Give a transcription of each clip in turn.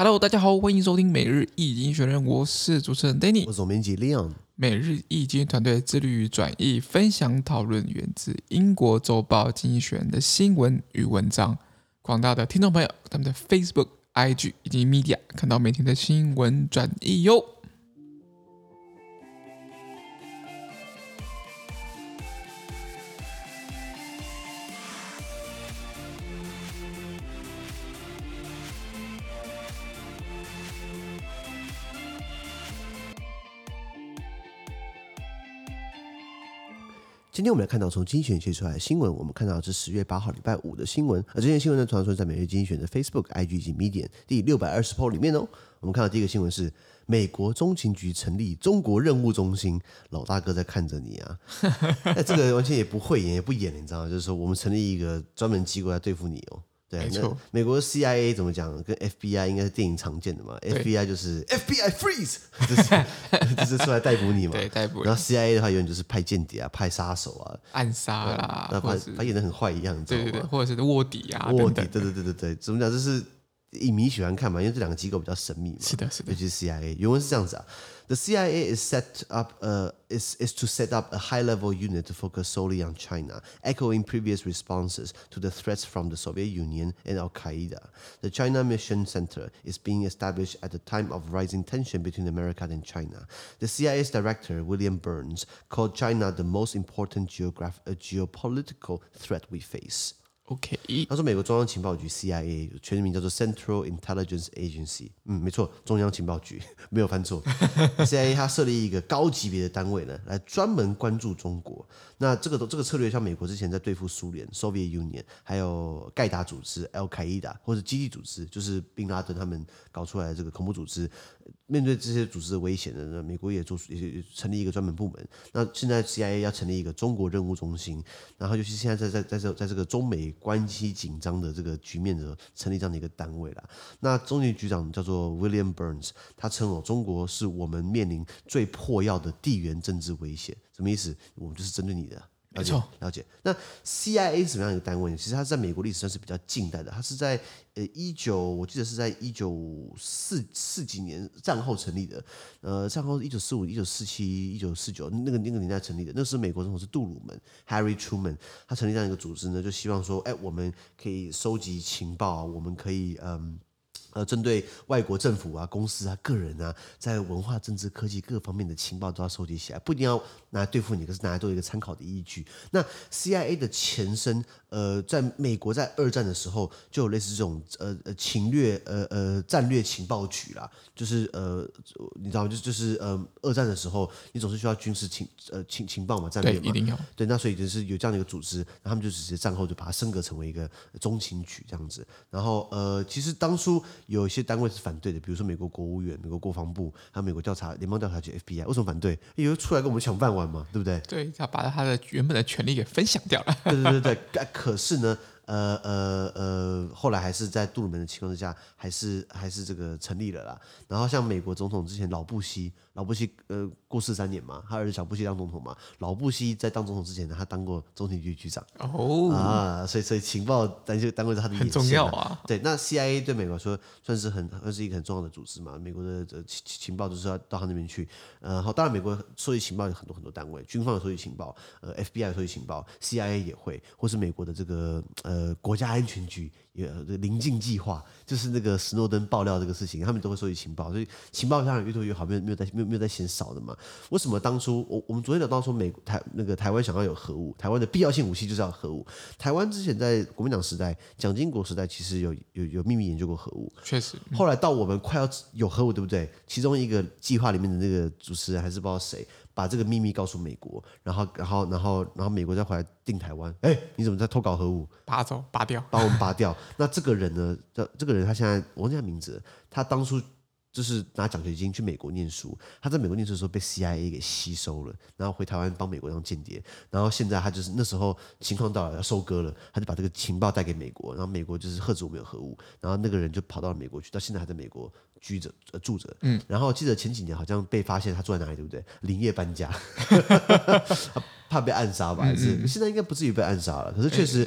Hello， 大家好，歡迎收聽每日一經濟學人，我是主持人 Danny， 我是總編輯 Leon。 每日一經濟團隊致力於轉譯、分享、討論源自英國週報《經濟學人》的新聞與文章。廣大的聽眾朋友，他們的 Facebook、IG 以及 Media 看到每天的新聞轉譯喲。 今天我們來看到從經濟學人寫出來的新聞，我們看到的是10月8號禮拜五的新聞，而這些新聞呢，傳說在每日經濟學人的 Facebook、IG 以及 Medium 第620 po 裡面哦。我們看到第一個新聞是美國中情局成立中國任務中心，老大哥在看着你啊！那這個完全也不會演也不演，你知道嗎？就是說我們成立一個專門機構來對付你哦。對，那美國的 CIA 怎麼講？跟 FBI 應該是電影常見的嘛。FBI 就是 FBI freeze， 就是出來逮捕你嘛。 對，逮捕。 然後 CIA 的話，永遠就是派間諜啊，派殺手啊， 暗殺啦， 他演得很壞一樣，你知道嗎？ 對，或者是臥底啊， 臥底，對，怎麼講？就是影迷喜歡看嘛，因為這兩個機構比較神秘嘛。 是的， 尤其是 CIA， 原文是這樣子啊。The CIA is to set up a high-level unit to focus solely on China, echoing previous responses to the threats from the Soviet Union and Al-Qaeda. The China Mission Center is being established at the time of rising tension between America and China. The CIA's director, William Burns, called China the most important geopolitical threat we face. OK， 他說美國中央情報局 CIA 全名叫做 Central Intelligence Agency， 沒錯，中央情報局沒有翻錯。CIA 它設立一個高級別的單位呢，來專門關注中國。那這個策略，像美國之前在對付蘇聯 Soviet Union， 還有蓋達組織 Al-Qaeda 或者基地組織，就是賓拉登他們搞出來的這個恐怖組織。面對這些組織的威脅呢，美國也成立一個專門部門。那現在 CIA 要成立一個中國任務中心，然後尤其現在在這個中美關係緊張的這個局面的時候，成立這樣的一個單位啦。那中情局長叫做 William Burns， 他稱中國是我們面臨最迫要的地緣政治威脅。什麼意思？我們就是針對你的。 沒錯， 了解。那 CIA 是什麼樣的一個單位呢？其實它是在美國歷史上是比較近代的，它是在我記得是在1944幾年戰後成立的。戰後1945、1947、1949那個年代成立的。那時候美國總統是杜魯門 Harry Truman， 他成立這樣一個組織呢，就希望說，我們可以收集情報，我們可以針對外國政府啊、公司啊、個人啊，在文化、政治、科技各方面的情報都要收集起來，不一定要拿來对付你，可是拿來做一個參考的依據。那 CIA 的前身，在美國在二戰的時候就有類似這種侵略戰略情報局啦，就是你知道嗎？就是二戰的時候，你總是需要軍事情報嘛，戰略嘛， 對，一定要。 對，那所以就是有這樣的一個組織，然後他們就直接戰後就把它升格成為一個中情局這樣子。然後其實當初有一些單位是反对的，比如說美國國務院、美國國防部，還有美國聯邦調查局 FBI， 為什麼反對？因為出來跟我們搶飯碗嘛，對不對？ 對，他把他的原本的權力給分享掉了。 對，可是呢，後來還是在杜魯門的情況之下，還是這個成立了啦。然後像美國總統之前老布希過世3年嘛，他兒子小布希當總統嘛。老布希在當總統之前呢，他當過中情局局長所以情報單位是他的很重要啊。 對，那 CIA 對美國來說算是一個很重要的組織嘛。美國的情報就是要到他那邊去。當然美國收集情報有很多單位，軍方有收集情報，FBI 有收集情報 ，CIA 也會，或是美國的這個國家安全局臨近計劃，就是那個史諾登爆料這個事情，他們都會收集情報，所以情報當然越多越好，沒有在嫌少的嘛。為什麼當初我們昨天聊到說台灣想要有核武，台灣的必要性武器就是要核武。台灣之前在國民黨時代、蔣經國時代，其實有秘密研究過核武， 確實。 後來到我們快要有核武，對不對？其中一個計劃裡面的那個主持人還是不知道誰，把這個秘密告訴美國，然後美國再回來定台灣。你怎麼在偷搞核武？ 拔掉， 把我們拔掉。那這個人呢？這個人他現在我忘記他名字了，他當初就是拿獎學金去美國念書，他在美國念書的時候被 CIA 給吸收了，然後回台灣幫美國當間諜，然後現在他就是那時候情況到了要收割了，他就把這個情報帶給美國，然後美國就是嚇止我們有核武，然後那個人就跑到了美國去，到現在還在美國住着。然後記得前幾年好像被發現他住在哪裡，對不對？連夜搬家，他怕被暗殺吧？還是現在應該不至於被暗殺了，可是確實。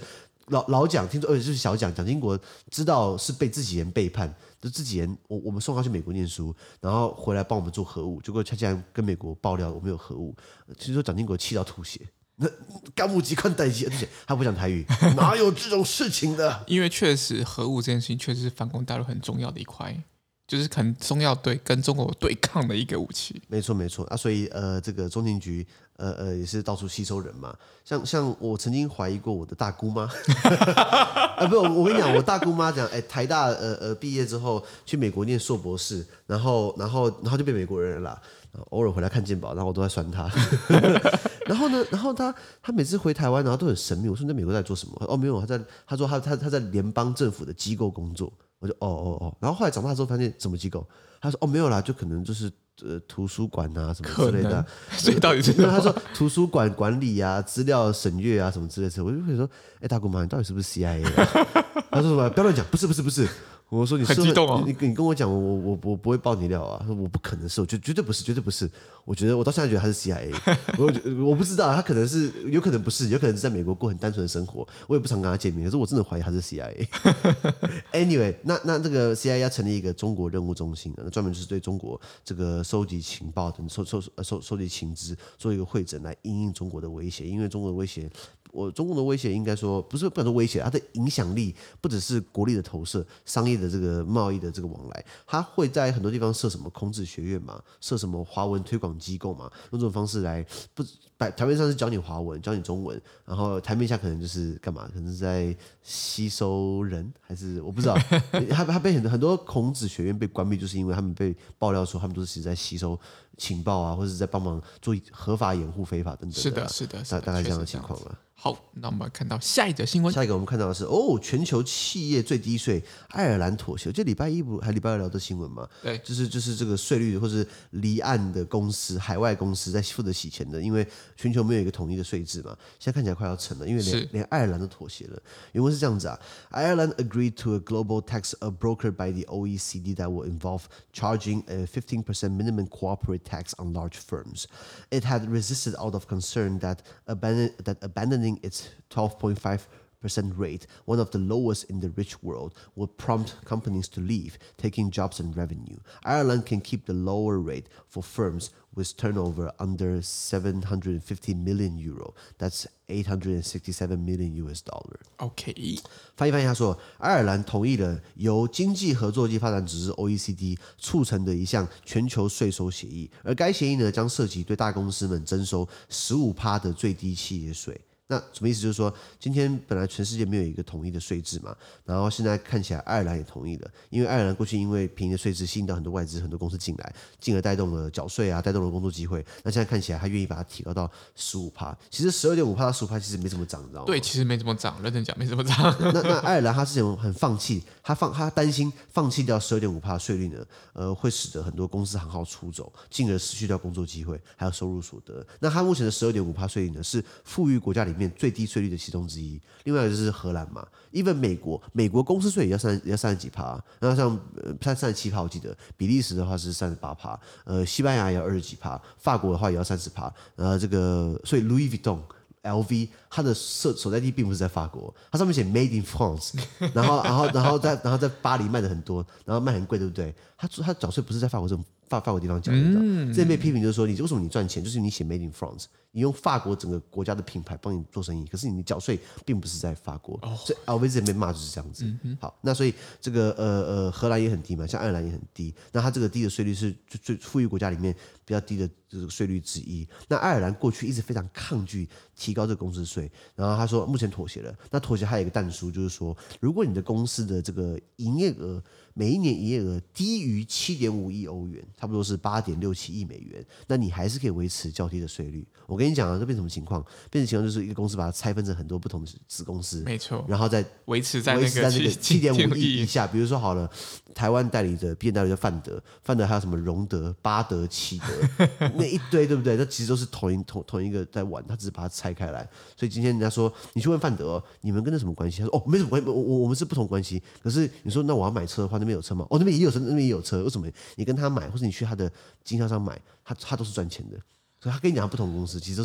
老蔣聽說，就是小蔣蔣經國知道是被自己人背叛，就自己人我們送他去美國念書，然後回來幫我們做核武，結果他竟然跟美國爆料我們有核武，聽說蔣經國氣到吐血。那干部機關代機，而且他不講台語，哪有這種事情的？ 因為確實核武這件事情確實是反攻大陸很重要的一塊，就是可能中要對跟中國對抗的一個武器。 沒錯啊，所以這個中情局也是到處吸收人嘛。像我曾經懷疑過我的大姑媽，不，我跟你講，我大姑媽講，台大畢業之後去美國念碩博士，然後就變美國人了啦。偶爾回來看健保，然後我都在酸他。然後他每次回台灣，然後都很神秘。我說你在美國在做什麼？哦，沒有，他說他在聯邦政府的機構工作。我就哦。然後後來長大之後發現什麼機構？他說哦沒有啦，就可能就是圖書館啊什麼之類的、啊。 所以到底是什麼？ 他說圖書館管理啊、資料審閱啊什麼之類的。我就會說，大姑媽，你到底是不是 CIA 的？他說什麼？不要亂講，不是。我說你很激動哦， 你跟我講，我不會爆你料啊。他說我不可能是，我絕對不是。我到现在覺得他是 CIA， 我不知道，他可能是，有可能不是，有可能是在美國過很單純的生活。我也不常跟他見面，可是我真的懷疑他是 CIA。Anyway， 那這個 CIA 要成立一個中國任務中心，那專門就是對中國這個收集情報等收集情資，做一個彙整來因應中國的威脅，因為中國的威脅。中共的威脅應該說不能說威脅，它的影響力不只是國力的投射，商業的這個貿易的這個往來，它會在很多地方設什麼孔子學院嘛，設什麼華文推廣機構嘛，用這種方式來台面上是教你華文，教你中文，然後台面下可能就是幹嘛？可能是在吸收人，還是我不知道。他被很多孔子學院被關閉，就是因為他們被爆料說他們都是其實在吸收情報啊，或者是在幫忙做合法掩護非法等等的、啊。是的，大概這樣的情況了。 好，那我們看到下一則新聞。 下一個我們看到的是全球企業最低稅，愛爾蘭妥協。就禮拜一不還禮拜二聊的新聞嘛？對，就是這個稅率或是離岸的公司、海外公司在負責洗錢的，因為全球沒有一個統一的稅制嘛。現在看起來快要成了，因為連愛爾蘭都妥協了。原文是這樣子啊 ：Ireland agreed to a global tax brokered by the OECD that will involve charging a 15% minimum corporate tax on large firms. It had resisted out of concern that abandoning its 12.5% rate, one of the lowest in the rich world, would prompt companies to leave, taking jobs and revenue. Ireland can keep the lower rate for firms with turnover under 750 million euro. That's $867 million. OK， 翻譯他說，愛爾蘭同意了由經濟合作及發展組織 OECD 促成的一項全球稅收協議，而該協議呢將涉及對大公司們徵收 15% 的最低企業稅。那什麼意思？就是說，今天本來全世界沒有一個統一的稅制嘛，然後現在看起來愛爾蘭也同意了，因為愛爾蘭過去因為便宜的稅制吸引到很多外資、很多公司進來，進而帶動了繳稅啊，帶動了工作機會。那現在看起來，他願意把它提高到 15%。其實12.5%到15%其實沒怎麼漲，你知道嗎？ 對，其實沒怎麼漲，認真講沒怎麼漲。 那愛爾蘭他之前很放棄，他擔心放棄掉12.5%的稅率呢，會使得很多公司行號出走，進而失去掉工作機會，還有收入所得。那他目前的12.5%稅率呢，是富裕國家裡面最低稅率的其中之一。另外一個就是荷蘭嘛 ，even 美國公司稅也要30幾%，那像37%我記得，比利時的話是38%，西班牙也要20幾%，法國的話也要30%，這個所以 Louis Vuitton。LV 它的所在地並不是在法國，它上面寫 Made in France， 然後在巴黎賣的很多，然後賣很貴，對不對？它繳稅不是在法國這種法國地方繳的，這邊被批評就是說，你為什麼你賺錢，就是你寫 Made in France， 你用法國整個國家的品牌幫你做生意，可是你繳稅並不是在法國，所以 LV 這邊被罵就是這樣子。好，那所以這個荷蘭也很低嘛，像愛爾蘭也很低，那它這個低的稅率是最富裕國家裡面比較低的這個稅率之一。那愛爾蘭過去一直非常抗拒提高這個公司稅，然後他說目前妥協了。那妥協還有一個但書，就是說如果你的公司的這個營業額每一年營業額低於7.5億歐元，差不多是8.67億美元，那你還是可以維持較低的稅率。我跟你講啊，這變成什麼情況？變成情況就是一個公司把它拆分成很多不同的子公司，沒錯，然後再維持在那個7.5億以下。比如說好了，台灣代理的 B N 代理叫范德還有什麼榮德、巴德、奇德那一堆，對不對？那其實都是同一個在玩，他只是把它拆開來。所以今天人家說你去問范德，你們跟那什麼關係？他說沒什麼關係，我們是不同關係。可是你說那我要買車的話，那邊有車嗎？那邊也有車，那邊也有車。為什麼你跟他買，或者你去他的經銷商買，他都是賺錢的。所以他跟你講不同公司，其實都是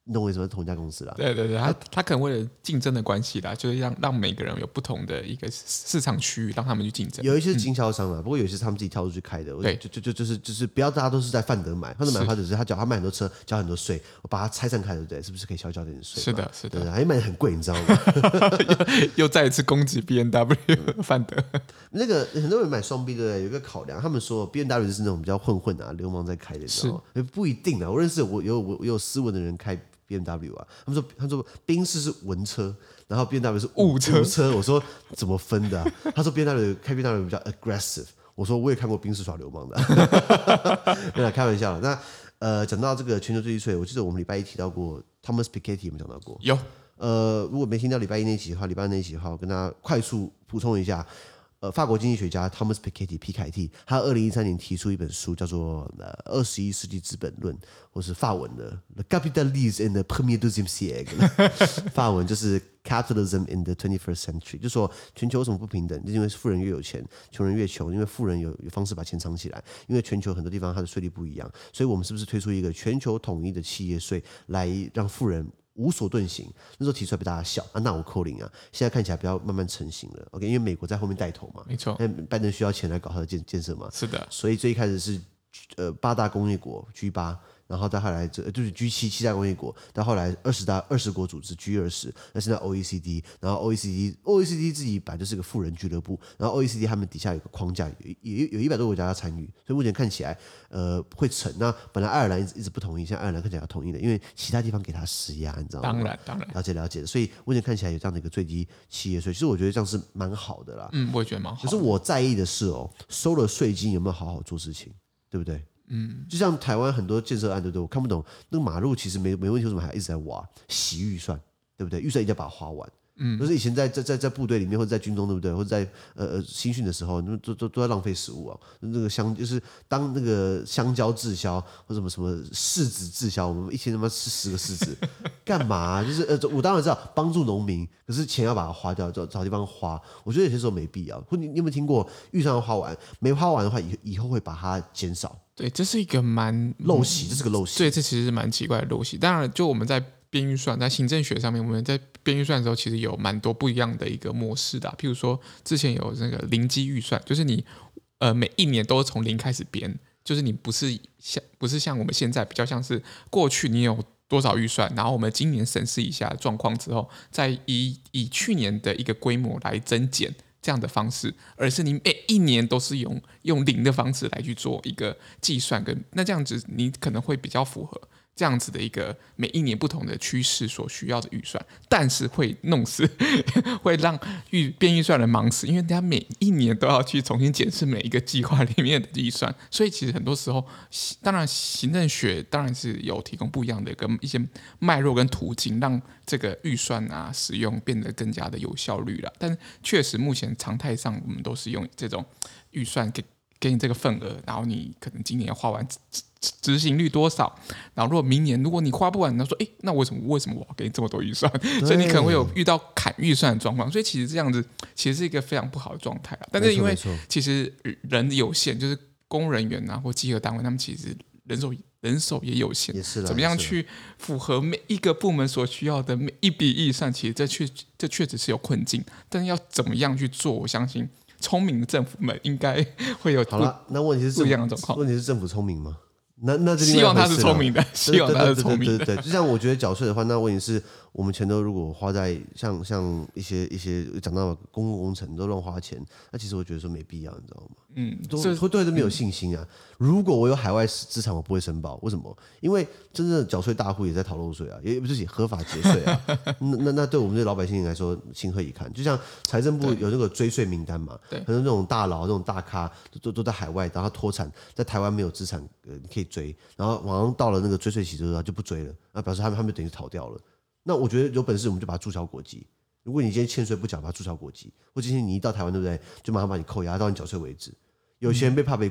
你懂我意思嗎？同一家公司啦。 對，他可能為了競爭的關係啦，就是讓每個人有不同的一個市場區域，讓他們去競爭。 有一些是經銷商啦，不過有一些是他們自己跳出去開的。對，就是不要大家都是在范德買，范德買的話就是他買很多車，交很多稅，我把它拆散開，對不對？是不是可以少交點稅？ 是的， 對，還買的很貴，你知道嗎？ 又再一次攻擊 BMW 范德。 那個很多人買雙 B 對不對？有一個考量，他們說 BMW 就是那種比較混啊、流氓在開的，你知道嗎？不一定啊，我認識我有斯文的人開 BMW 啊，他說賓士是文車，然後 BMW 是武車。我說怎麼分的啊？他說開 BMW 比較 aggressive。我說我也看過賓士耍流氓的，沒有開玩笑。那講到這個全球最低稅，我記得我們禮拜一提到過 Thomas Piketty， 有沒有講到過？ 有。 如果沒聽到禮拜一那一集的話，禮拜二那一集的話，我跟大家快速補充一下。法國經濟學家 Thomas Piketty 皮凱蒂，他2013年提出一本書，叫做21世紀資本論，或是法文的 Le Capitalisme in the Premier Deuxième Siècle， 法文就是 Capitalism in the 21st Century， 就說全球有什麼不平等，就是因為富人越有錢，窮人越窮，因為富人有方式把錢藏起來，因為全球很多地方它的稅率不一樣，所以我們是不是推出一個全球統一的企業稅，來讓富人無所遁形？那時候提出來被大家笑啊，那我扣零啊！現在看起來比較慢慢成型了。OK， 因為美國在後面帶頭嘛， 沒錯。 拜登需要錢來搞他的建設嘛， 是的。 所以最一開始是8大工業國 G8，然後到後來就是 G7 大工業國，到後來20國組織 G20，那現在 OECD， 然後 OECD 自己本來就是個富人俱樂部，然後 OECD 他們底下有個框架，有100多個國家要參與，所以目前看起來會成。那本來愛爾蘭一直不同意，現在愛爾蘭看起來要同意了，因為其他地方給他施壓，你知道嗎？ 當然， 了解。所以目前看起來有這樣的一個最低企業稅，其實我覺得這樣是蠻好的啦。 我也覺得蠻好的。 可是我在意的是收了稅金有沒有好好做事情，對不對？就像台灣很多建設案，对不對？我看不懂，那個馬路其實沒問題，為什麼還一直在挖？洗預算，對不對？預算一定要把它花完。就是以前在部隊裡面或者在軍中，對不對？或者在新訓的時候，都在浪費食物啊。那個就是當那個香蕉滯銷或什麼柿子滯銷，我們一天他媽吃10個柿子，幹嘛啊？就是我當然知道幫助農民，可是錢要把它花掉，找地方花。我覺得有些時候沒必要。你有沒有聽過預算要花完？沒花完的話，以後會把它減少。 對，這是一個蠻陋習，這是個陋習。 對，這其實是蠻奇怪的陋習。當然，就我們在編預算，在行政學上面，我們在編預算的時候，其實有蠻多不一樣的一個模式的譬如說，之前有那個零基預算，就是你每一年都從零開始編，就是你不是像我們現在比較像是過去你有多少預算，然後我們今年審視一下狀況之後，再以去年的一個規模來增減。這樣的方式，而是你每一年都是用零的方式來去做一個計算，那這樣子你可能會比較符合這樣子的一個每一年不同的趨勢所需要的預算，但是會弄死，會讓編預算人忙死，因為大家每一年都要去重新檢視每一個計劃裡面的預算，所以其實很多時候，當然行政學當然是有提供不一樣的一些脈絡跟途徑，讓這個預算啊使用變得更加的有效率了。但確實目前常態上，我們都是用這種預算給你這個份額，然後你可能今年要花完執行率多少，然後如果你花不完，那說那為什麼我要給你這麼多預算？所以你可能會有遇到砍預算的狀況，所以其實這樣子其實是一個非常不好的狀態。但是因為其實人有限，就是公務人員或稽核單位，他們其實人手也有限，怎麼樣去符合每一個部門所需要的每一筆預算？其實這確實是有困境，但是要怎麼樣去做？我相信聰明的政府們應該會有好了。 那問題是不一樣的狀況。問題是政府聰明嗎？那希望他是聰明的，希望他是聰明的。 对，就像我覺得繳稅的話，那問題是我們錢都如果花在像一些講到公共工程都亂花錢，那其實我覺得說沒必要，你知道嗎？會對這沒有信心啊。如果我有海外資產，我不會申報，為什麼？因為真正的繳稅大戶也在逃漏稅啊，也不是合法節稅啊。那對我們這老百姓來說，情何以堪？就像財政部有那個追稅名單嘛，很多那種大佬、那種大咖都在海外，然後脫產，在台灣沒有資產，可以追，然後好像到了那個追稅期之後就不追了，那表示他們就等於逃掉了。那我覺得有本事我們就把它註銷國籍。如果你今天欠稅不繳，把它註銷國籍，或今天你一到台灣，對不對？就馬上把你扣押到你繳稅為止。有些人被怕被關，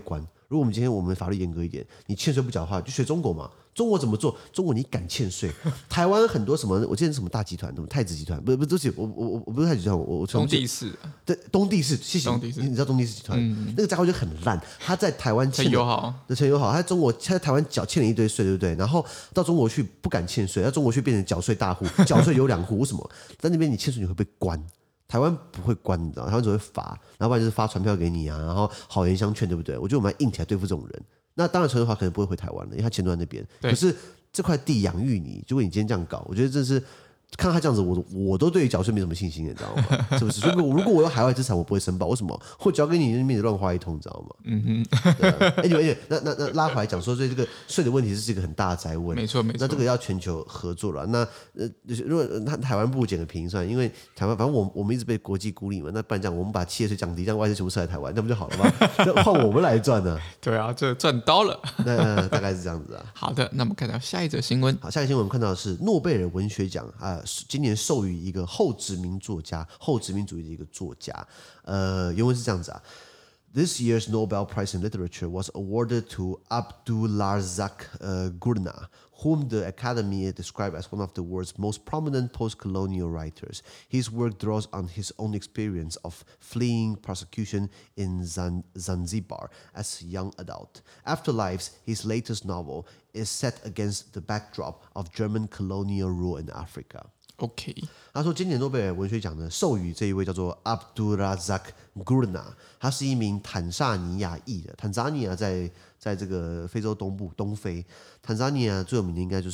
如果我們今天我們法律嚴格一點，你欠稅不繳的話，就學中國嘛。中國怎麼做？中國你敢欠稅？台灣很多什麼？我記得什麼大集團，什麼太子集團，不，對不起，我不是太子集团，我東帝士， 對，東帝士，謝謝你知道東帝士集團，那個家伙就很爛，他在台灣欠友好，陳友好，他在中國，他在台灣欠了一堆稅，對不对？然後到中國去不敢欠稅，到中國去變成繳稅大戶，繳稅有2戶，為什麼？在那邊你欠稅你會被關。台灣不會關，你知道，台灣只會罰，然後不然就是發傳票給你啊，然後好言相勸，對不對？我覺得我們要硬起來對付這種人。那當然，陳淑華可能不會回台灣了，因為他錢都在那邊。可是這塊地養育你，如果你今天這樣搞，我覺得這是。看他這樣子，我都對於繳稅沒什麼信心，你知道嗎？是不是？如果我有海外資產，我不會申報，為什麼？我交給你那邊亂花一通，你知道嗎？嗯哼。那拉回來講說，所以這個稅的問題是一個很大的哉問。 沒錯。 那這個要全球合作了。那如果台灣不如撿個便宜算，因為台灣反正我們一直被國際孤立嘛，那不然這樣，我們把企業稅降低，讓外資全部撤來台灣，那不就好了嗎？換我們來賺呢？ 對啊，這賺到了。 那大概是這樣子啊。 好的，那我們看到下一則新聞。 好，下一個新聞我們看到的是諾貝爾文學獎啊。今年授予一個後殖民作家、後殖民主義的一個作家。原文是這樣子啊。This year's Nobel Prize in Literature was awarded to Abdulrazak Gurnah, whom the Academy described as one of the world's most prominent post-colonial writers. His work draws on his own experience of fleeing persecution in Zanzibar as a young adult. Afterlives, his latest novel, is set against the backdrop of German colonial rule in Africa.OK， 他說今年諾貝爾文學獎呢，授予這一位叫做 Abdulrazak Gurnah， 他是一名坦薩尼亞裔的。坦薩尼亞在這個非洲東部東非，坦薩尼亞最有名的應該就是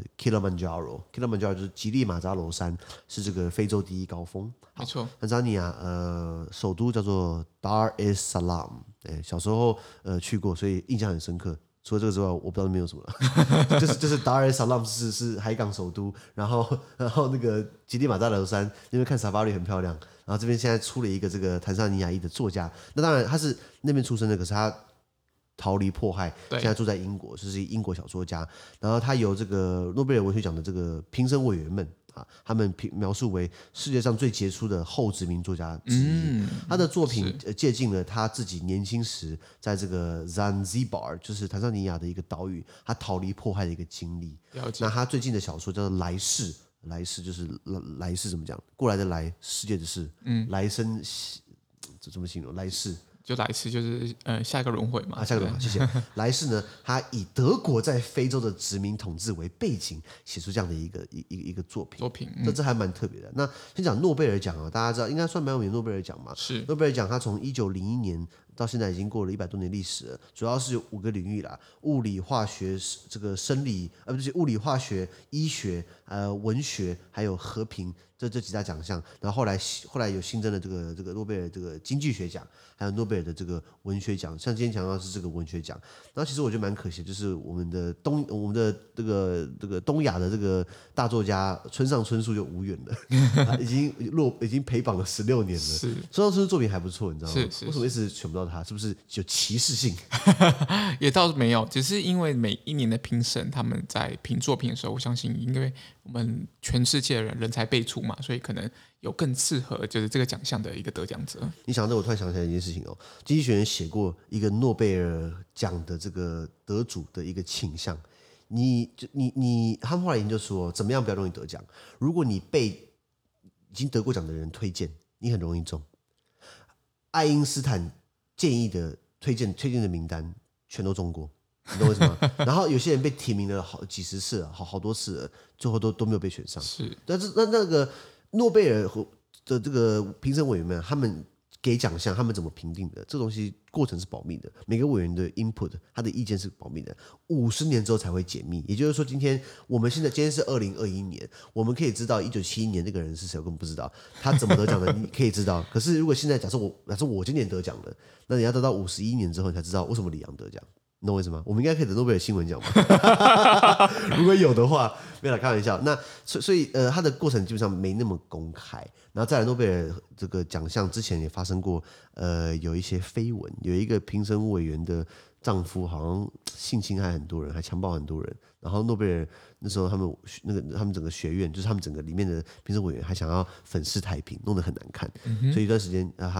Kilimanjaro 就是吉利馬扎羅山，是這個非洲第一高峰。 沒錯， 坦薩尼亞首都叫做 Dar es Salaam， 小時候去過，所以印象很深刻。除了這個之外，我不知道那邊有什麼了。就是 Dar es Salaam 是海港首都，然後那個吉利馬扎羅山那邊看 Safari 很漂亮。然後這邊現在出了一個這個坦薩尼亞裔的作家，那當然他是那邊出生的，可是他逃離迫害，現在住在英國，就是英國小說家。然後他由這個諾貝爾文學獎的這個評審委員們。他們描述為世界上最傑出的後殖民作家之一。他的作品借鑑了他自己年輕時在這個 Zanzibar， 就是坦桑尼亞的一個島嶼，他逃離迫害的一個經歷。那他最近的小說叫做《來世》，來世就是來世怎麼講？過來的來，世界的世，來生，這怎麼形容？來世。 就來世就是下一個輪迴嘛。 下一個輪迴，謝謝。來世呢，他以德國在非洲的殖民統治為背景，寫出這樣的一個作品。這還蠻特別的。那先講諾貝爾獎啊，大家知道應該算蠻有名的諾貝爾獎嘛。是諾貝爾獎，它從1901年到現在已經過了100多年歷史了，主要是有5個領域啦：物理、化學、這個生理，不是物理、化學、醫學、文學，還有和平。這幾大獎項，然後後來有新增了這個諾貝爾這個經濟學獎，還有諾貝爾的這個文學獎。像今天講到的是這個文學獎，然後其實我覺得蠻可惜，就是我們的這個東亞的這個大作家村上春樹就無緣了，已經陪榜了16年了。是村上春树作品還不錯，你知道嗎？是為什麼一直選不到他？是不是有歧視性？ 也倒是沒有，只是因為每一年的評審他們在評作品的時候，我相信因為我們全世界的人才輩出嘛，所以可能有更適合就是這個獎項的一個得獎者。 你想到我突然想起來一件事情哦，經濟學人寫過一個諾貝爾獎的這個得主的一個傾向。他們後來研究說，怎麼樣比較容易得獎？如果你被已經得過獎的人推薦，你很容易中。愛因斯坦建議的推薦的名單全都中過。你懂為什麼？然後有些人被提名了幾十次了，好多次了，最後都沒有被選上。是，但是那個諾貝爾的這個評審委員們，他們給獎項，他們怎麼評定的？這東西過程是保密的，每個委員的 input， 他的意見是保密的，50年之後才會解密。也就是說，今天是2021年，我們可以知道1971年那個人是誰，我根本不知道他怎麼得獎的，你可以知道。可是如果現在假設我今年得獎了，那你要等到51年之後，你才知道為什麼李陽得獎。你懂我意思嗎？我們應該可以等諾貝爾新聞獎吧？如果有的話，沒有啦，開玩笑。那所以它的過程基本上沒那麼公開。然後再來，諾貝爾這個獎項之前也發生過有一些緋聞，有一個評審委員的丈夫好像性侵害很多人，還強暴很多人。然後諾貝爾那時候他們整個學院，就是他們整個裡面的評審委員還想要粉飾太平，弄得很難看。所以一段時間他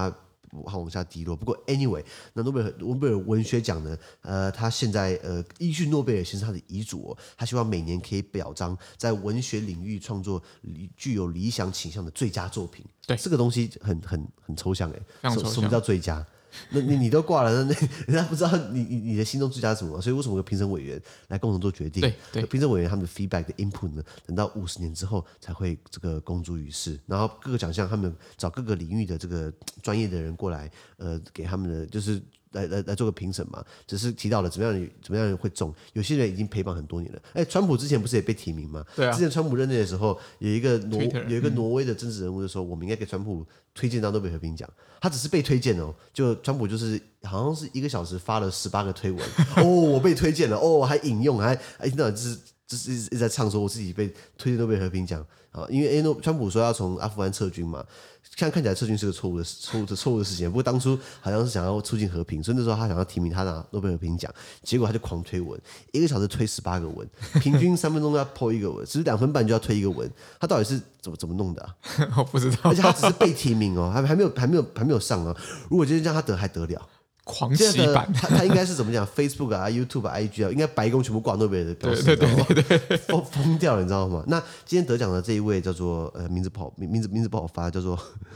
往下低落。不過 anyway， 那諾貝爾文學獎呢，他現在依據諾貝爾先生他的遺囑他希望每年可以表彰在文學領域創作具有理想傾向的最佳作品。 對， 這個東西很抽象什麼叫最佳？那你都掛了，那人家不知道你的心中最佳是什麼，所以為什麼有評審委員來共同做決定？對，評審委員他們的 feedback 的 input 呢，等到50年之後才會這個公諸於世。然後各個獎項他們找各個領域的這個專業的人過來，給他們的就是來做個評審嘛。只是提到了怎麼樣人會中，有些人已經陪伴很多年了。川普之前不是也被提名嗎？對啊。之前川普任內的時候，有一個挪威的政治人物就說，我們應該給川普推薦到諾貝爾和平獎。他只是被推薦哦，就川普就是好像是1個小時發了18個推文哦，我被推薦了哦，還引用，還一直在唱說我自己被推薦諾貝爾和平獎啊，因為川普說要從阿富汗撤軍嘛，看起來撤軍是個錯誤的事情，不過當初好像是想要促進和平，所以那時候他想要提名他拿諾貝爾和平獎，結果他就狂推文，1個小時推18個文，平均3分鐘要 po 一個文，只是2分半就要推一個文，他到底是怎麼弄的啊？ 我不知道， 而且他只是被提名哦，還沒有上哦，如果今天讓他得還得了？ 狂洗版， 他應該是怎麼講 ？Facebook 啊、YouTube 啊、IG 啊，應該白宮全部掛諾貝爾的標識， 對， 瘋掉了，你知道嗎？那今天得獎的這一位叫做名字不好發，叫做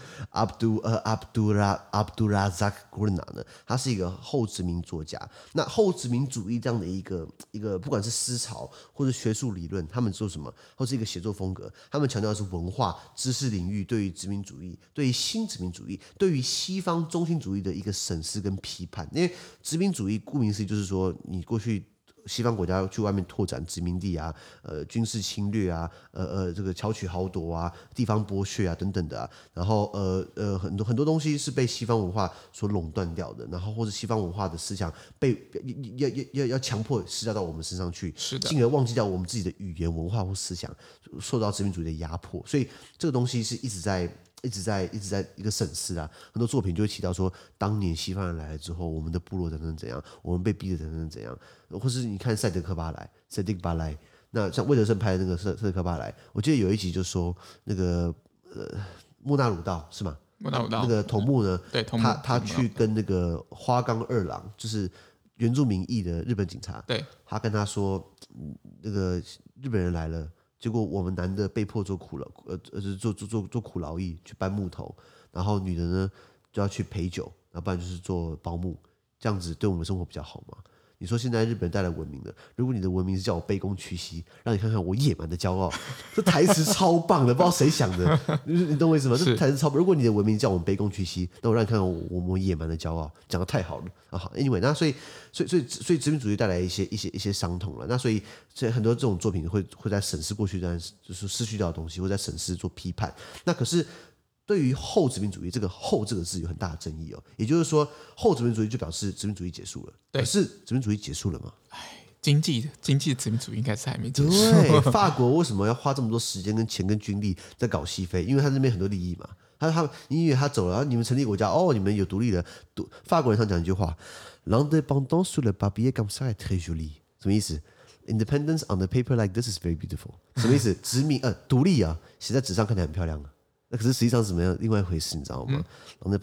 Abdulrazak Gurnah 呢，他是一個後殖民作家。那後殖民主義這樣的一個，不管是思潮或者學術理論，他們做什麼，或是一個寫作風格，他們強調的是文化、知識領域對於殖民主義、對於新殖民主義、對於西方中心主義的一個審視跟批判。因為殖民主義顧名思義就是說，你過去西方國家去外面拓展殖民地啊，軍事侵略啊，這個巧取豪奪啊，地方剝削啊等等的啊，然後很多東西是被西方文化所壟斷掉的，然後或者西方文化的思想被要強迫施加到我們身上去，是的，進而忘記掉我們自己的語言文化或思想受到殖民主義的壓迫，所以這個東西是一直在一個審視啊，很多作品就会提到說，當年西方人來了之後，我們的部落怎樣，我們被逼得怎樣，或是你看塞迪克巴萊，那像魏德聖拍的那個塞迪克巴萊，我記得有一集就說那個莫納魯道是嗎？莫納魯道那個頭目呢，對，他去跟那個花岡二郎，就是原住民裔的日本警察，對，他跟他說，那個日本人來了。結果我們男的被迫做苦勞役，去搬木頭，然後女的呢就要去陪酒，要不然就是做保姆，這樣子對我們生活比較好嘛？你說現在日本人帶來文明了，如果你的文明是叫我卑躬屈膝，讓你看看我野蠻的驕傲，這台詞超棒的，不知道誰想的，你懂我意思嗎？這台詞超棒。如果你的文明叫我們卑躬屈膝，那我讓你看看我野蠻的驕傲，講得太好了啊！好 ，anyway， 那所以殖民主義帶來一些傷痛了。那所以很多這種作品會在審視過去就是失去掉的東西，會在審視做批判。那可是。對於後殖民主義，這個“後”這個字有很大的爭議哦。也就是說，後殖民主義就表示殖民主義結束了。對，可是殖民主義結束了嗎？ 經濟殖民主義應該是還沒結束。 對，法國為什麼要花這麼多時間跟錢跟軍力在搞西非？因為他那邊很多利益嘛。因為他走了，然後你們成立國家，你們有獨立了。法國人常講一句話 ：“L'indépendance sur le papier comme ça est très jolie。”什麼意思 ？Independence on the paper like this is very beautiful。什麼意思？獨立啊，寫在紙上看起來很漂亮啊。可是實際上是怎麼樣？另外一回事，你知道嗎？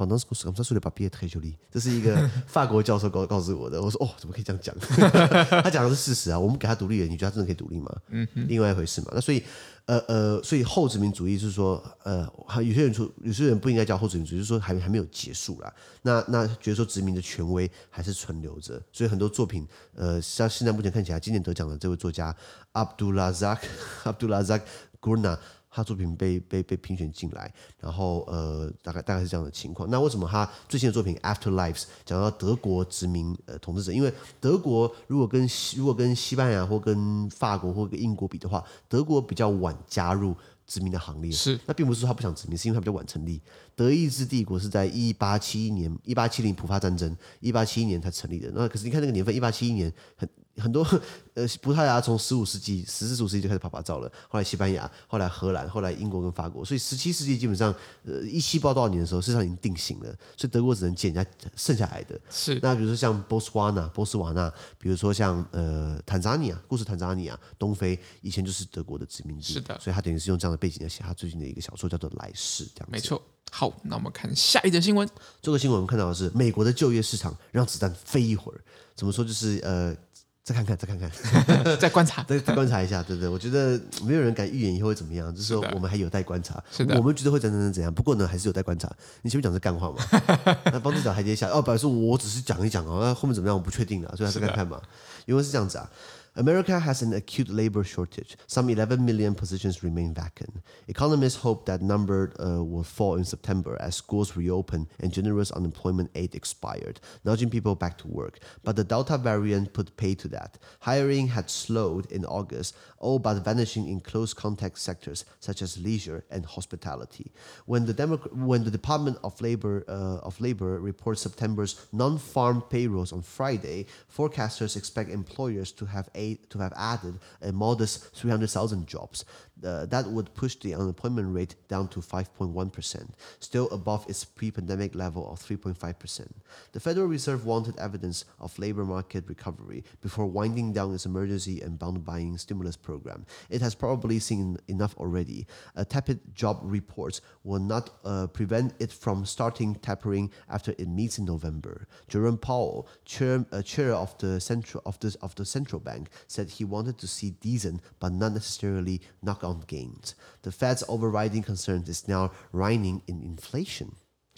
這是一個法國教授告訴我的。我說怎麼可以這樣講？他講的是事實啊。我們給他獨立了，你覺得他真的可以獨立嗎？另外一回事嘛。那所以後殖民主義就是說，有些人不應該叫後殖民主義，就是說還沒有結束啦。那覺得說殖民的權威還是存留着，所以很多作品，像現在目前看起來，今年得獎的這位作家 Abdulrazak Gurnah。他作品被評選進來，然後大概是這樣的情況。那為什麼他最新的作品《Afterlives》講到德國殖民統治者？因為德國如果跟西班牙或跟法國或跟英國比的話，德國比較晚加入殖民的行列。是，那並不是說他不想殖民，是因為他比較晚成立。德意志帝國是在1870普法戰爭，1871年才成立的。那可是你看那個年份，1871年很多葡萄牙從15世紀、14、15世紀就開始啪照了，後來西班牙，後來荷蘭，後來英國跟法國，所以17世紀基本上17不知道多少年的時候，事實上已經定型了，所以德國只能撿人家剩下來的。是，那比如說像波斯瓦納，比如說像坦桑尼亞，東非以前就是德國的殖民地，是的，所以他等於是用這樣的背景來寫他最近的一個小說，叫做《來世》這樣子。沒錯。 好，那我們看下一則新聞。 這個新聞我們看到的是美國的就業市場讓子彈飛一會兒，怎麼說就是再看看， 再觀察， 再觀察一下，對不對？我覺得沒有人敢預言以後會怎麼樣，就是說我們還有待觀察。 是的， 我們覺得會怎樣，不過呢，還是有待觀察。你前面講是幹話嘛？那幫自找台階下。哦，表示我只是講一講哦，那後面怎麼樣我不確定了，所以還是看看嘛。因為是這樣子啊。America has an acute labor shortage. Some 11 million positions remain vacant. Economists hope that number will fall in September as schools reopen and generous unemployment aid expired, nudging people back to work. But the Delta variant put pay to that. Hiring had slowed in August, all but vanishing in close contact sectors such as leisure and hospitality. When the Department of Labor reports September's non-farm payrolls on Friday, forecasters expect employers to have added a modest 300,000 jobs. That would push the unemployment rate down to 5.1%, still above its pre-pandemic level of 3.5%. The Federal Reserve wanted evidence of labor market recovery before winding down its emergency and bond buying stimulus program. It has probably seen enough already. Tepid job reports will not prevent it from starting tapering after it meets in November. Jerome Powell, chair of the central bank, said he wanted to see decent but not necessarily knock-on gains. The Fed's overriding concern is now reigning in inflation.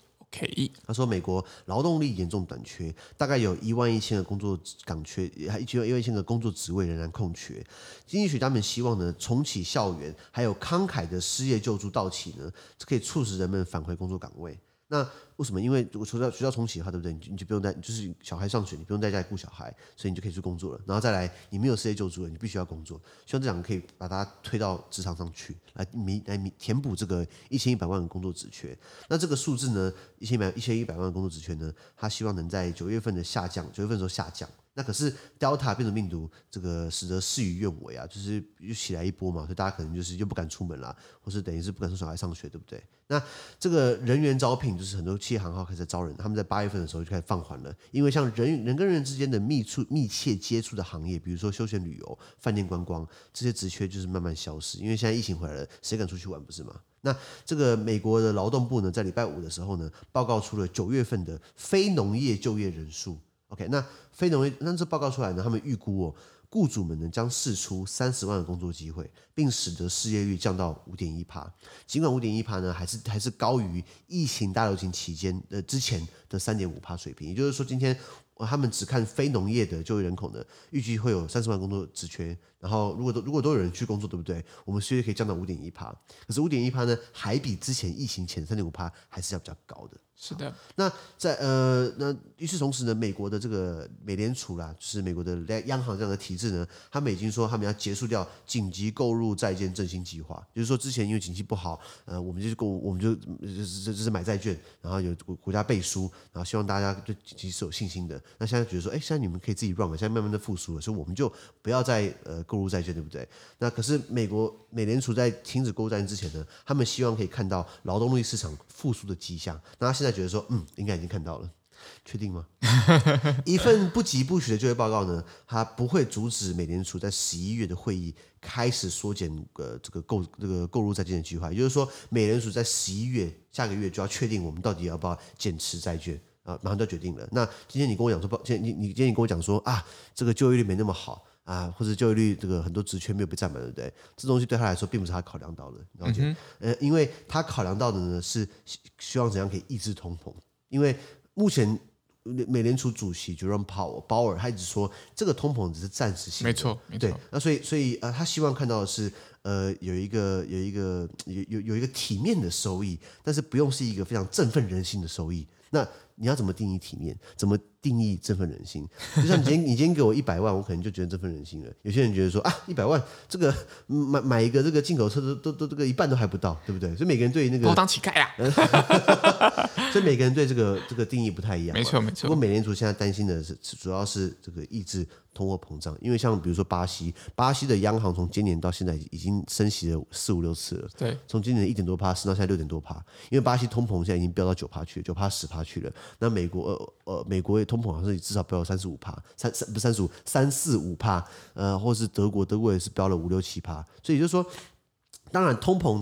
OK， 他說美國勞動力嚴重短缺，大概有11000個工作崗缺，還11000個工作職位仍然空缺。經濟學家們希望呢，重啟校園，還有慷慨的失業救助到期呢，這可以促使人們返回工作崗位。那為什麼？因為如果學校重啟的話，對不對？你就不用帶，就是小孩上學，你不用在家裡顧小孩，所以你就可以去工作了。然後再來，你沒有失業救助了，你必須要工作。希望這兩個可以把它推到職場上去，來填補這個1100萬個工作職缺。那這個數字呢，1100萬個工作職缺呢，他希望能在9月份的時候下降。那可是 Delta 變種病毒，這個使得事與願違啊，就是又起來一波嘛，所以大家可能就是又不敢出門啦，或是等於是不敢送小孩上學，對不對？那這個人員招聘，就是很多企業行號開始招人，他們在8月份的時候就開始放緩了，因為像人跟人之間的密切接觸的行業，比如說休閒旅遊、飯店觀光這些職缺就是慢慢消失，因為現在疫情回來了，誰敢出去玩不是嗎？那這個美國的勞動部呢，在禮拜5的時候呢，報告出了9月份的非農業就業人數。OK， 那非農業，那這報告出來呢，他們預估雇主們呢將釋出30萬個工作機會，並使得失業率降到 5.1%。儘管 5.1% 呢還是高於疫情大流行期間之前的 3.5% 水平，也就是說今天他們只看非農業的就業人口呢，預計會有30萬工作職缺，然後如果都有人去工作，對不對？我們失業率可以降到 5.1%， 可是 5.1% 呢還比之前疫情前 3.5% 還是要比較高的。 是的， 那與此同時呢，美國的這個美聯儲啦，就是美國的央行這樣的體制呢，他們已經說他們要結束掉緊急購入債券振興計劃，就是說之前因為經濟不好，我們就是買債券，然後有國家背書，然後希望大家對經濟是有信心的。那現在覺得說，現在你們可以自己 run 了，現在慢慢的復甦了，所以我們就不要再購入債券，對不對？那可是美聯儲在停止購入債券之前呢，他們希望可以看到勞動力市場復甦的跡象。那他現在覺得說，應該已經看到了，確定嗎？一份不疾不徐的就業報告呢，它不會阻止美聯儲在11月的會議開始縮減這個購入債券的計劃。也就是說，美聯儲在11月下個月就要確定我們到底要不要減持債券啊，馬上就要決定了。那今天你跟我講說，今天你跟我講說啊，這個就業率沒那麼好啊，或者就業率這個很多職缺沒有被占滿，對不對？這東西對他來說並不是他考量到的，了解？因為他考量到的呢是希望怎樣可以抑制通膨。因為目前美聯儲主席 Jerome Powell 他一直說這個通膨只是暫時性的， 沒錯， 對。那所以他希望看到的是有一個體面的收益，但是不用是一個非常振奮人心的收益。那你要怎麼定義體面？怎麼定義振奮人心？就像你今天給我100萬，我可能就覺得振奮人心了。有些人覺得說啊，100萬這個買一個這個進口車都這個一半都還不到，對不對？所以每個人對那個我當乞丐啊， 所以每個人對这個定義不太一樣。 沒錯沒錯。 不過美聯儲現在擔心的是，主要是這個抑制通貨膨脹，因為像比如說巴西的央行從今年到現在已經升息了4、5、6次了。对，從今年1.多%升到現在6.多%，因為巴西通膨現在已經飆到9%去了，9%、10%去了。那美國也通膨好像是至少飆了35%，不是35%、3、4、5%，或是德國也是飆了5、6、7%。所以就是說，當然通膨的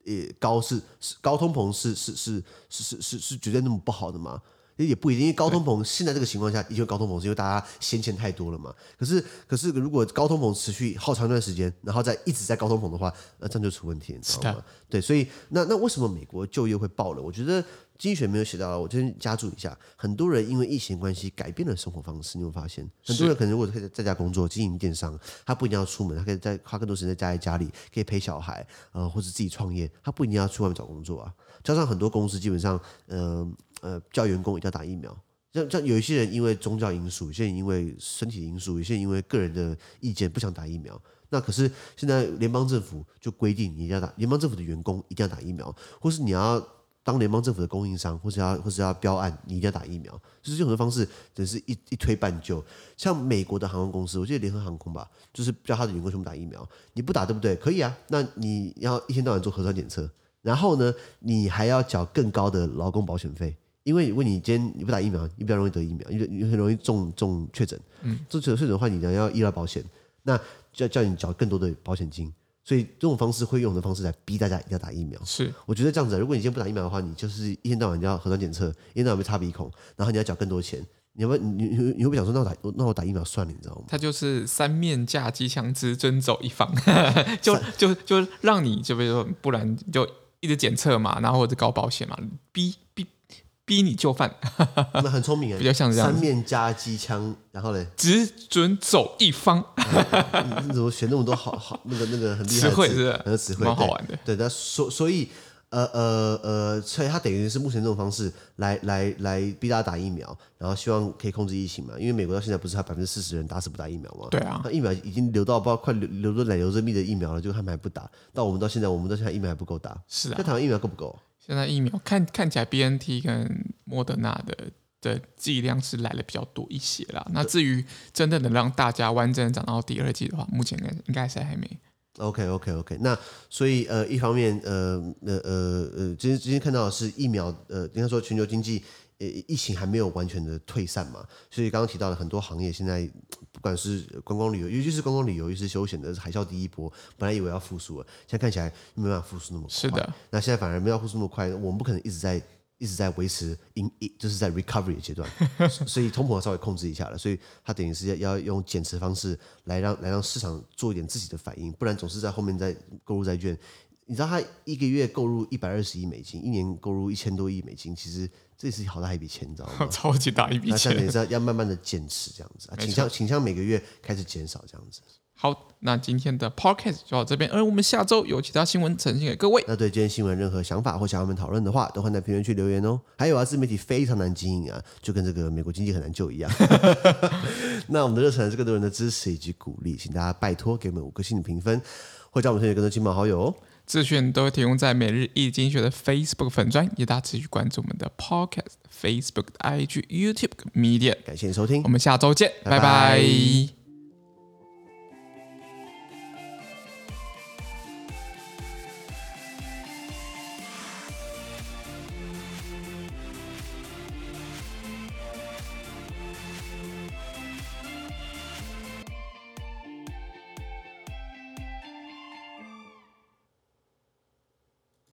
高高通膨是絕對那麼不好的嗎？也不一定，因為高通膨現在這個情況下，因為高通膨是因為大家先前太多了嘛。可是如果高通膨持續好長一段時間，然後一直在高通膨的話，那這樣就出問題，你知道嗎？對，所以那為什麼美國就業會爆了？我覺得經濟學沒有寫到，我先加注一下。很多人因為疫情關係改變了生活方式，你有沒有發現？很多人可能如果可以在家工作，經營電商，他不一定要出門，他可以花更多時間在家裡，可以陪小孩，或者自己創業，他不一定要去外面找工作啊。加上很多公司基本上，叫員工一定要打疫苗。像有一些人因為宗教因素，有些人因為身體因素，有些人因為個人的意見不想打疫苗。那可是現在聯邦政府就規定你一定要打，聯邦政府的員工一定要打疫苗，或是你要當聯邦政府的供應商，或是要標案，你一定要打疫苗。就是這種方式，真是一推半就。像美國的航空公司，我記得聯合航空吧，就是叫他的員工全部打疫苗。你不打對不对？可以啊，那你要一天到晚做核酸檢測，然後呢，你還要繳更高的勞工保險費。因為如果你今天你不打疫苗，你比較容易得疫苗，你很容易中確診。中確診的話，你要醫療保險，那就要叫你繳更多的保險金。所以這種方式會用的方式來逼大家一定要打疫苗。是，我覺得這樣子，如果你今天不打疫苗的話，你就是一天到晚要核酸檢測，一天到晚被插鼻孔，然後你要繳更多錢。你會不會想說，那我打疫苗算了，你知道嗎？他就是三面架機槍支遵走一方，就讓你就比如說，不然就一直檢測嘛，然後或者搞保險嘛，逼你就範。那很聰明，比較像這樣。三面加機槍，然後嘞，只准走一方。你怎麼學那麼多好那個很厲害的詞彙？是不是？很多詞彙，蠻好玩的。對，那所以他等於是目前這種方式來逼大家打疫苗，然後希望可以控制疫情嘛。因為美國到現在不是他40%人打死不打疫苗嗎？對啊，那疫苗已經流到不知道快流到奶油生命的疫苗了，就他們還不打。到我們到現在疫苗還不夠打。是啊，在台灣疫苗夠不夠？現在疫苗看起來 BNT 跟莫德納的劑量是來的比較多一些啦。那至於真正的讓大家完整長到第二劑的話，目前應該是還沒。OK， 那所以一方面今天看到的是疫苗應該說全球經濟疫情還沒有完全的退散嘛，所以剛剛提到的很多行業現在不管是觀光旅遊，尤其是觀光旅遊，尤其是休閒的海嘯第一波，本來以為要復甦了，現在看起來沒辦法復甦那麼快。是的，那現在反而沒有復甦那麼快，我們不可能一直在維持就是在 recovery 的階段，所以通膨稍微控制一下了，所以它等於是要用減持方式來讓市場做一點自己的反應，不然總是在後面在購入債券。你知道他一個月購入120億美金，一年購入1000多億美金，其實這是好大一筆錢，你知道嗎？超級大一筆錢。那現在也是要慢慢的減持這樣子，傾向每個月開始減少這樣子。好，那今天的 podcast 就到這邊，而我們下周有其他新聞呈現給各位。那對今天新聞任何想法或想要我們討論的話，都歡迎在評論區留言哦。還有啊，自媒體非常難經營啊，就跟這個美國經濟很難救一樣。那我們的熱忱是更多人的支持以及鼓勵，請大家拜託給我們5顆星的評分，或者我們推薦更多親朋好友哦。資訊都會提供在每日一經濟學的 Facebook 粉專，也大家持續關注我們的 Podcast、Facebook、IG、YouTube、Media。感謝你收聽，我們下周見，拜拜。